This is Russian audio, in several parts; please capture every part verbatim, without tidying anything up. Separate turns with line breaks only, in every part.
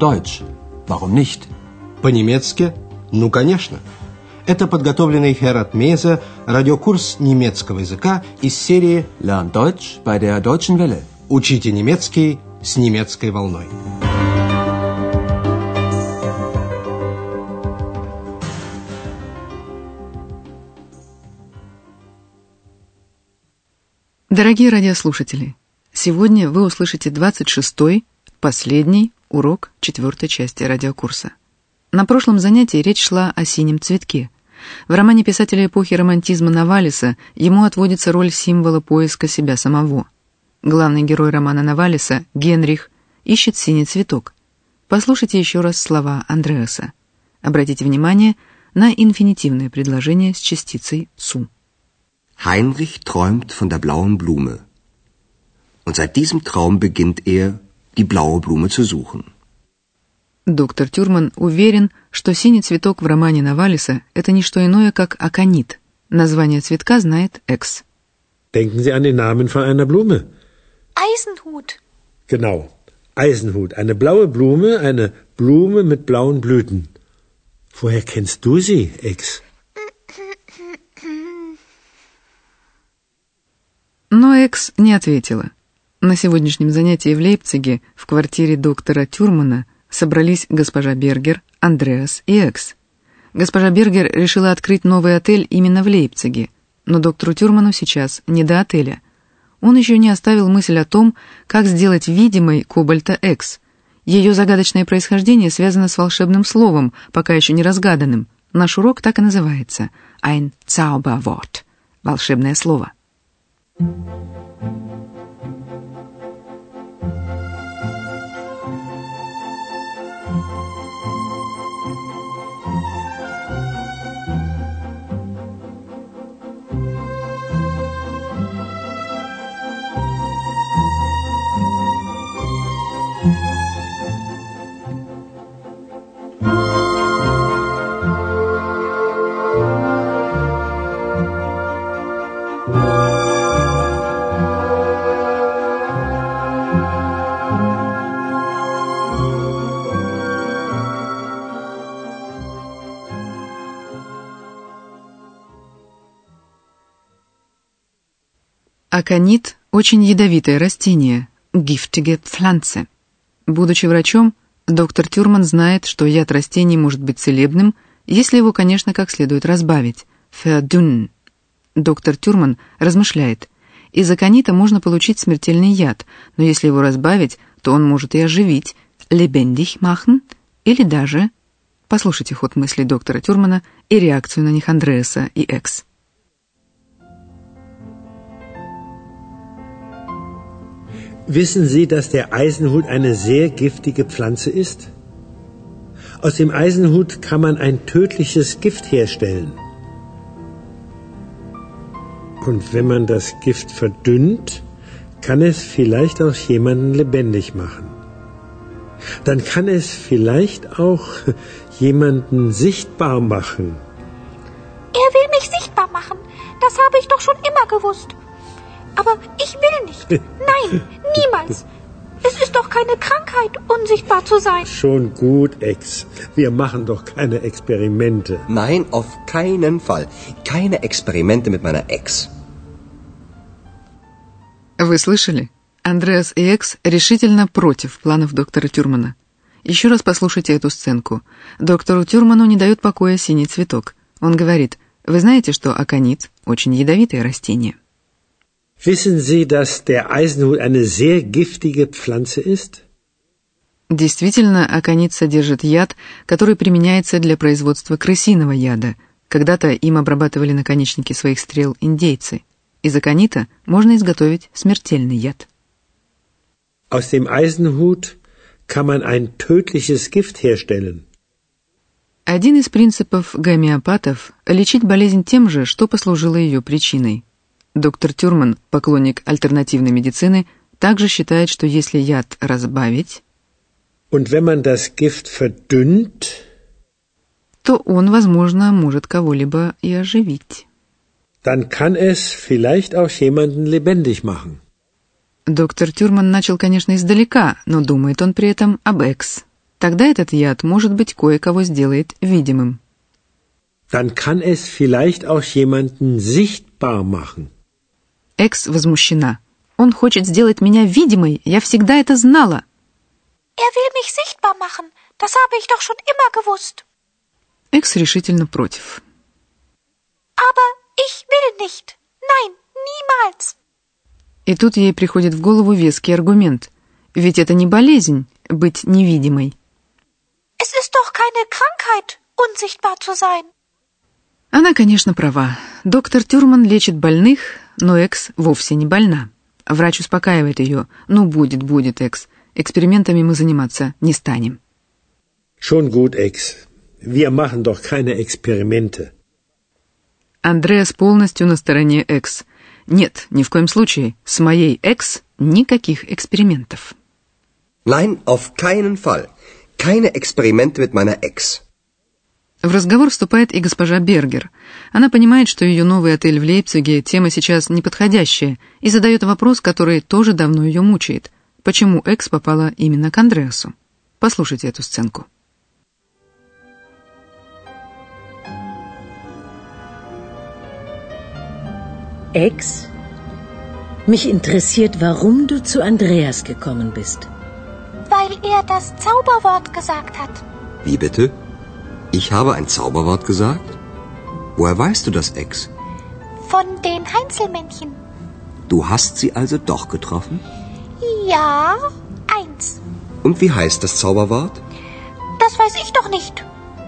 Deutsch. Warum nicht?
По-немецки? Ну, конечно. Это подготовленный Херат Мейзе радиокурс немецкого языка из серии
Lern Deutsch bei der Deutschen Welle.
«Учите немецкий с немецкой волной».
Дорогие радиослушатели, сегодня вы услышите двадцать шестой, последний урок четвертой части радиокурса. На прошлом занятии речь шла о синем цветке. В романе писателя эпохи романтизма Навалиса ему отводится роль символа поиска себя самого. Главный герой романа Навалиса, Генрих, ищет синий цветок. Послушайте еще раз слова Андреаса. Обратите внимание на инфинитивное предложение с частицей «цу».
Heinrich träumt von der blauen Blume. Und seit diesem Traum beginnt er, die blaue Blume zu suchen.
Доктор Тюрман уверен, что синий цветок в романе Навалиса – это не что иное, как аконит. Название цветка знает Экс.
Denken Sie an den Namen von einer Blume.
Eisenhut.
Genau, Eisenhut. Eine blaue Blume, eine Blume mit blauen Blüten. Woher kennst du sie, Ex?
Но Экс не ответила. На сегодняшнем занятии в Лейпциге в квартире доктора Тюрмана собрались госпожа Бергер, Андреас и Экс. Госпожа Бергер решила открыть новый отель именно в Лейпциге, но доктору Тюрману сейчас не до отеля. Он еще не оставил мысль о том, как сделать видимой Кобальта Экс. Ее загадочное происхождение связано с волшебным словом, пока еще не разгаданным. Наш урок так и называется «Ein Zauberwort» — волшебное слово. Аконит – очень ядовитое растение, giftige Pflanze. Будучи врачом, доктор Тюрман знает, что яд растений может быть целебным, если его, конечно, как следует разбавить, verdünnen. Доктор Тюрман размышляет, из аконита можно получить смертельный яд, но если его разбавить, то он может и оживить, lebendig machen, или даже... Послушайте ход мыслей доктора Тюрмана и реакцию на них Андреаса и Экс.
Wissen Sie, dass der Eisenhut eine sehr giftige Pflanze ist? Aus dem Eisenhut kann man ein tödliches Gift herstellen. Und wenn man das Gift verdünnt, kann es vielleicht auch jemanden lebendig machen. Dann kann es vielleicht auch jemanden sichtbar machen.
Er will mich sichtbar machen. Das habe ich doch schon immer gewusst. Aber ich will nicht. Nein, niemals. Es ist doch keine Krankheit, unsichtbar zu sein.
Schon gut, Ex. Wir machen doch keine Experimente.
Nein, auf keinen Fall. Keine Experimente mit meiner Ex.
Вы слышали? Андреас и Экс решительно против планов доктора Тюрмана. Еще раз послушайте эту сценку. Доктору Тюрману не дает покоя синий цветок. Он говорит, вы знаете, что аконит – очень ядовитое растение.
Wissen Sie, dass der Eisenhut eine sehr giftige Pflanze ist?
Действительно, аконит содержит яд, который применяется для производства крысиного яда. Когда-то им обрабатывали наконечники своих стрел индейцы. Из аконита можно изготовить смертельный яд.
Aus dem Eisenhut kann man ein tödliches Gift herstellen.
Один из принципов гомеопатов – лечить болезнь тем же, что послужило ее причиной. Доктор Тюрман, поклонник альтернативной медицины, также считает, что если яд разбавить,
Und wenn man das Gift verdünnt,
то он, возможно, может кого-либо и оживить.
Dann kann es vielleicht auch jemanden lebendig machen.
Доктор Тюрман начал, конечно, издалека, но думает он при этом об Экс. тогда этот яд, может быть, кое-кого сделает видимым.
Dann kann es vielleicht auch jemanden sichtbar machen.
Экс возмущена. Он хочет сделать меня видимой, я всегда это знала.
Er will mich sichtbar machen. Das habe ich doch schon immer gewusst.
Экс решительно против.
Aber ich will nicht. Nein, niemals.
И тут ей приходит в голову веский аргумент. Ведь это не болезнь — быть невидимой.
Es ist doch keine Krankheit, unsichtbar zu sein.
Она, конечно, права. Доктор Тюрман лечит больных, но Экс вовсе не больна. Врач успокаивает ее. Ну, будет, будет, Экс. Экспериментами мы заниматься не станем.
Schon gut, Ex. Wir machen doch keine Experimente.
Андреас полностью на стороне Экс. Нет, ни в коем случае. С моей Экс никаких экспериментов.
Nein, auf keinen Fall. Keine Experimente mit meiner Ex.
В разговор вступает и госпожа Бергер. Она понимает, что ее новый отель в Лейпциге тема сейчас неподходящая, и задает вопрос, который тоже давно ее мучает. Почему Экс попала именно к Андреасу? Послушайте эту сценку.
Ex, mich interessiert, warum du zu Andreas gekommen bist.
Weil er das Zauberwort gesagt hat.
Wie bitte? Ich habe ein Zauberwort gesagt? Woher weißt du das, Ex?
Von den Heinzelmännchen.
Du hast sie also doch getroffen?
Ja, eins.
Und wie heißt das Zauberwort?
Das weiß ich doch nicht.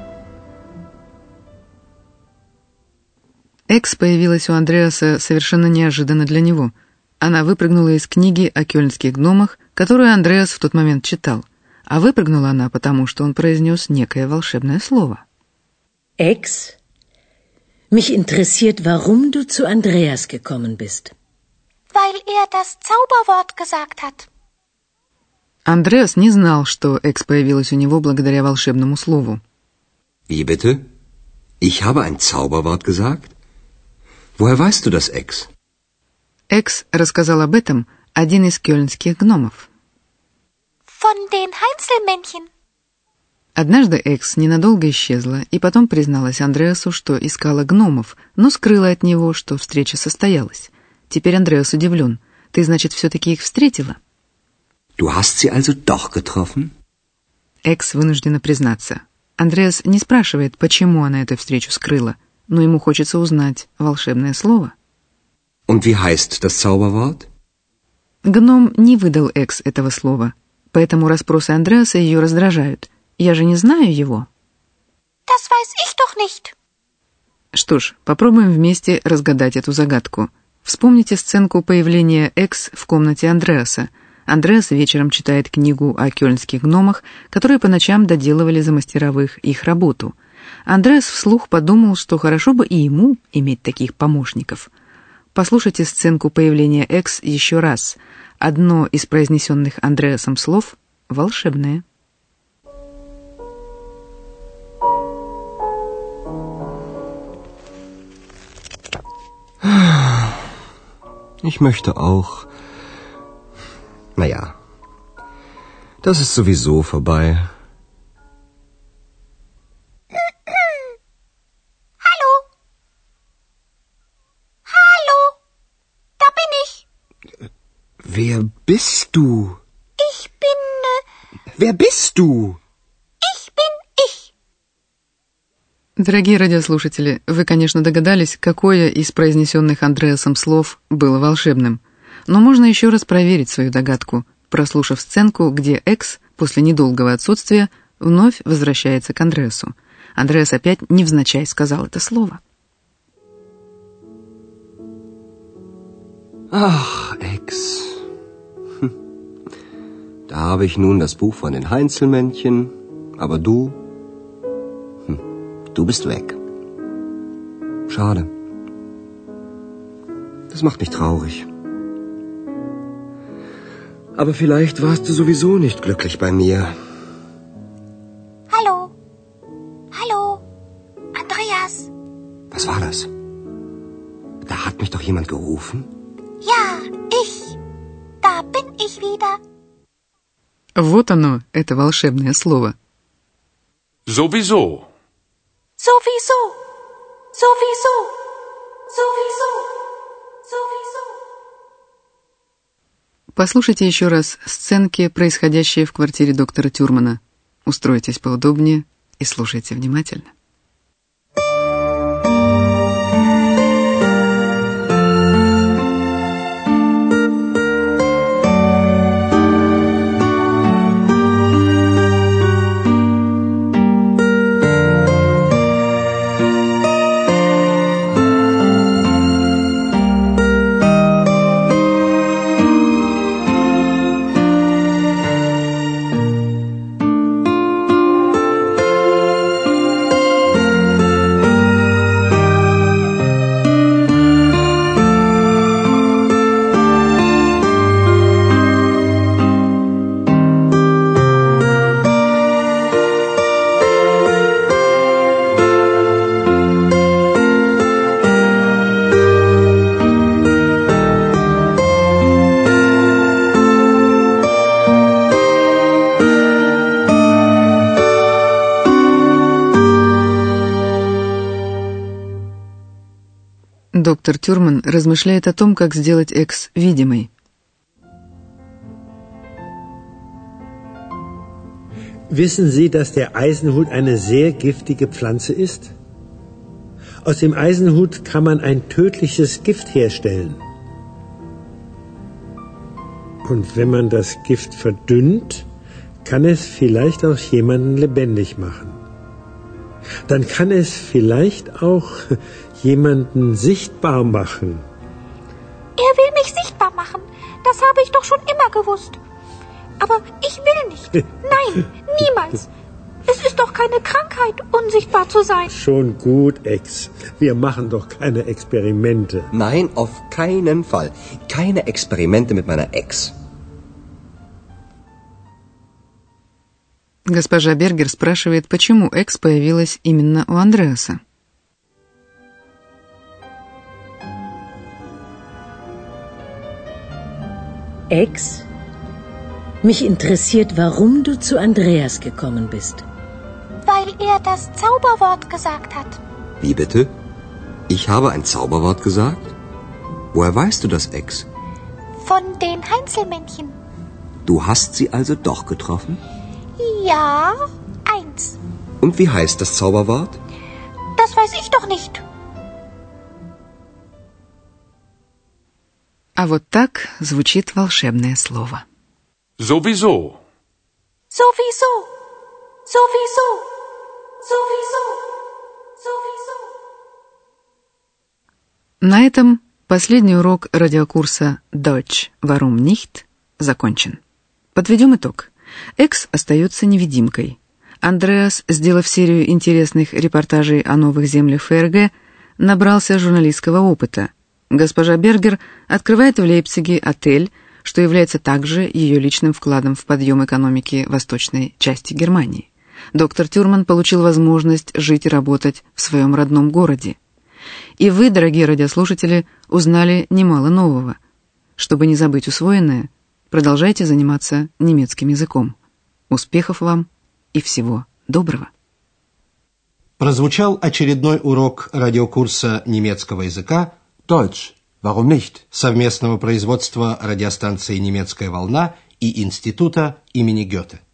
Экс появилась у Андреаса совершенно неожиданно для него. Она выпрыгнула из книги о кёльнских гномах, которую Андреас в тот момент читал. А выпрыгнула она потому, что он произнес некое волшебное слово.
Ex, mich interessiert, warum du zu Andreas gekommen bist.
Weil er das Zauberwort gesagt hat.
Андреас не знал, что Экс появилась у него благодаря волшебному слову.
Wie bitte? Ich habe ein Zauberwort gesagt? Woher weißt du das, Ex?
Экс рассказал об этом один из кёльнских гномов.
Von den Heinzelmännchen.
Однажды Экс ненадолго исчезла и потом призналась Андреасу, что искала гномов, но скрыла от него, что встреча состоялась. Теперь Андреас удивлен. Ты, значит, все-таки их встретила?
Du hast sie also doch getroffen?
Экс вынуждена признаться. Андреас не спрашивает, почему она эту встречу скрыла, но ему хочется узнать волшебное слово.
Und wie heißt das Zauberwort?
Гном не выдал Экс этого слова, поэтому расспросы Андреаса ее раздражают. Я же не знаю его.
Das weiß ich doch nicht.
Что ж, попробуем вместе разгадать эту загадку. Вспомните сценку появления Экс в комнате Андреаса. Андреас вечером читает книгу о кёльнских гномах, которые по ночам доделывали за мастеровых их работу. Андреас вслух подумал, что хорошо бы и ему иметь таких помощников. Послушайте сценку появления Экс еще раз. Одно из произнесенных Андреасом слов волшебное.
Ich möchte auch. Naja, das ist sowieso vorbei.
Hallo? Hallo? Da bin ich.
Wer bist du?
Ich bin... Äh,
Wer bist du?
ich bin ich.
Дорогие радиослушатели, вы, конечно, догадались, какое из произнесенных Андреасом слов было волшебным. Но можно еще раз проверить свою догадку, прослушав сценку, где Экс после недолгого отсутствия вновь возвращается к Андреасу. Андреас опять невзначай сказал это слово.
Ach, Ex. Hm. Da habe ich nun das Buch von den Heinzelmännchen, aber du, hm, du bist weg. Schade. Das macht mich traurig. Aber vielleicht warst du sowieso nicht glücklich bei mir.
Hallo? Hallo? Andreas?
Was war das? Da hat mich doch jemand gerufen.
Ja, ich. Da bin ich wieder.
Вот оно, это волшебное слово.
Sowieso.
Sowieso. Sowieso. Sowieso. Sowieso.
Послушайте еще раз сценки, происходящие в квартире доктора Тюрмана. Устройтесь поудобнее и слушайте внимательно. Доктор Тюрман размышляет о том, как сделать Экс видимой.
Wissen Sie, dass der Eisenhut eine sehr giftige Pflanze ist? Aus dem Eisenhut kann man ein tödliches Gift herstellen. Und wenn man das Gift verdünnt, kann es vielleicht auch jemanden lebendig machen. Dann kann es vielleicht auch jemanden sichtbar machen.
Er will mich sichtbar machen. Das habe ich doch schon immer gewusst. Aber ich will nicht. Nein, niemals. Es ist doch keine Krankheit, unsichtbar zu sein.
Schon gut, Ex. Wir machen doch keine Experimente.
Nein, auf keinen Fall. Keine Experimente mit meiner Ex.
Госпожа Бергер спрашивает, почему Экс появилась именно у Андреаса.
Ex, mich interessiert, warum du zu Andreas gekommen bist.
Weil er das Zauberwort gesagt hat.
Wie bitte? Ich habe ein Zauberwort gesagt? Woher weißt du das, Ex?
Von den Heinzelmännchen.
Du hast sie also doch getroffen?
Ja, eins.
Und wie heißt das Zauberwort?
Das weiß ich doch nicht.
А вот так звучит волшебное слово.
Sowieso.
Sowieso. Sowieso. Sowieso. Sowieso.
На этом последний урок радиокурса Deutsch Warum nicht закончен. Подведем итог. Экс остается невидимкой. Андреас, сделав серию интересных репортажей о новых землях ФРГ, набрался журналистского опыта. Госпожа Бергер открывает в Лейпциге отель, что является также ее личным вкладом в подъем экономики восточной части Германии. Доктор Тюрман получил возможность жить и работать в своем родном городе. И вы, дорогие радиослушатели, узнали немало нового. Чтобы не забыть усвоенное, продолжайте заниматься немецким языком. Успехов вам и всего доброго.
Прозвучал очередной урок радиокурса немецкого языка
Deutsch, warum nicht?
совместного производства радиостанции «Немецкая волна» и Института имени Гёте.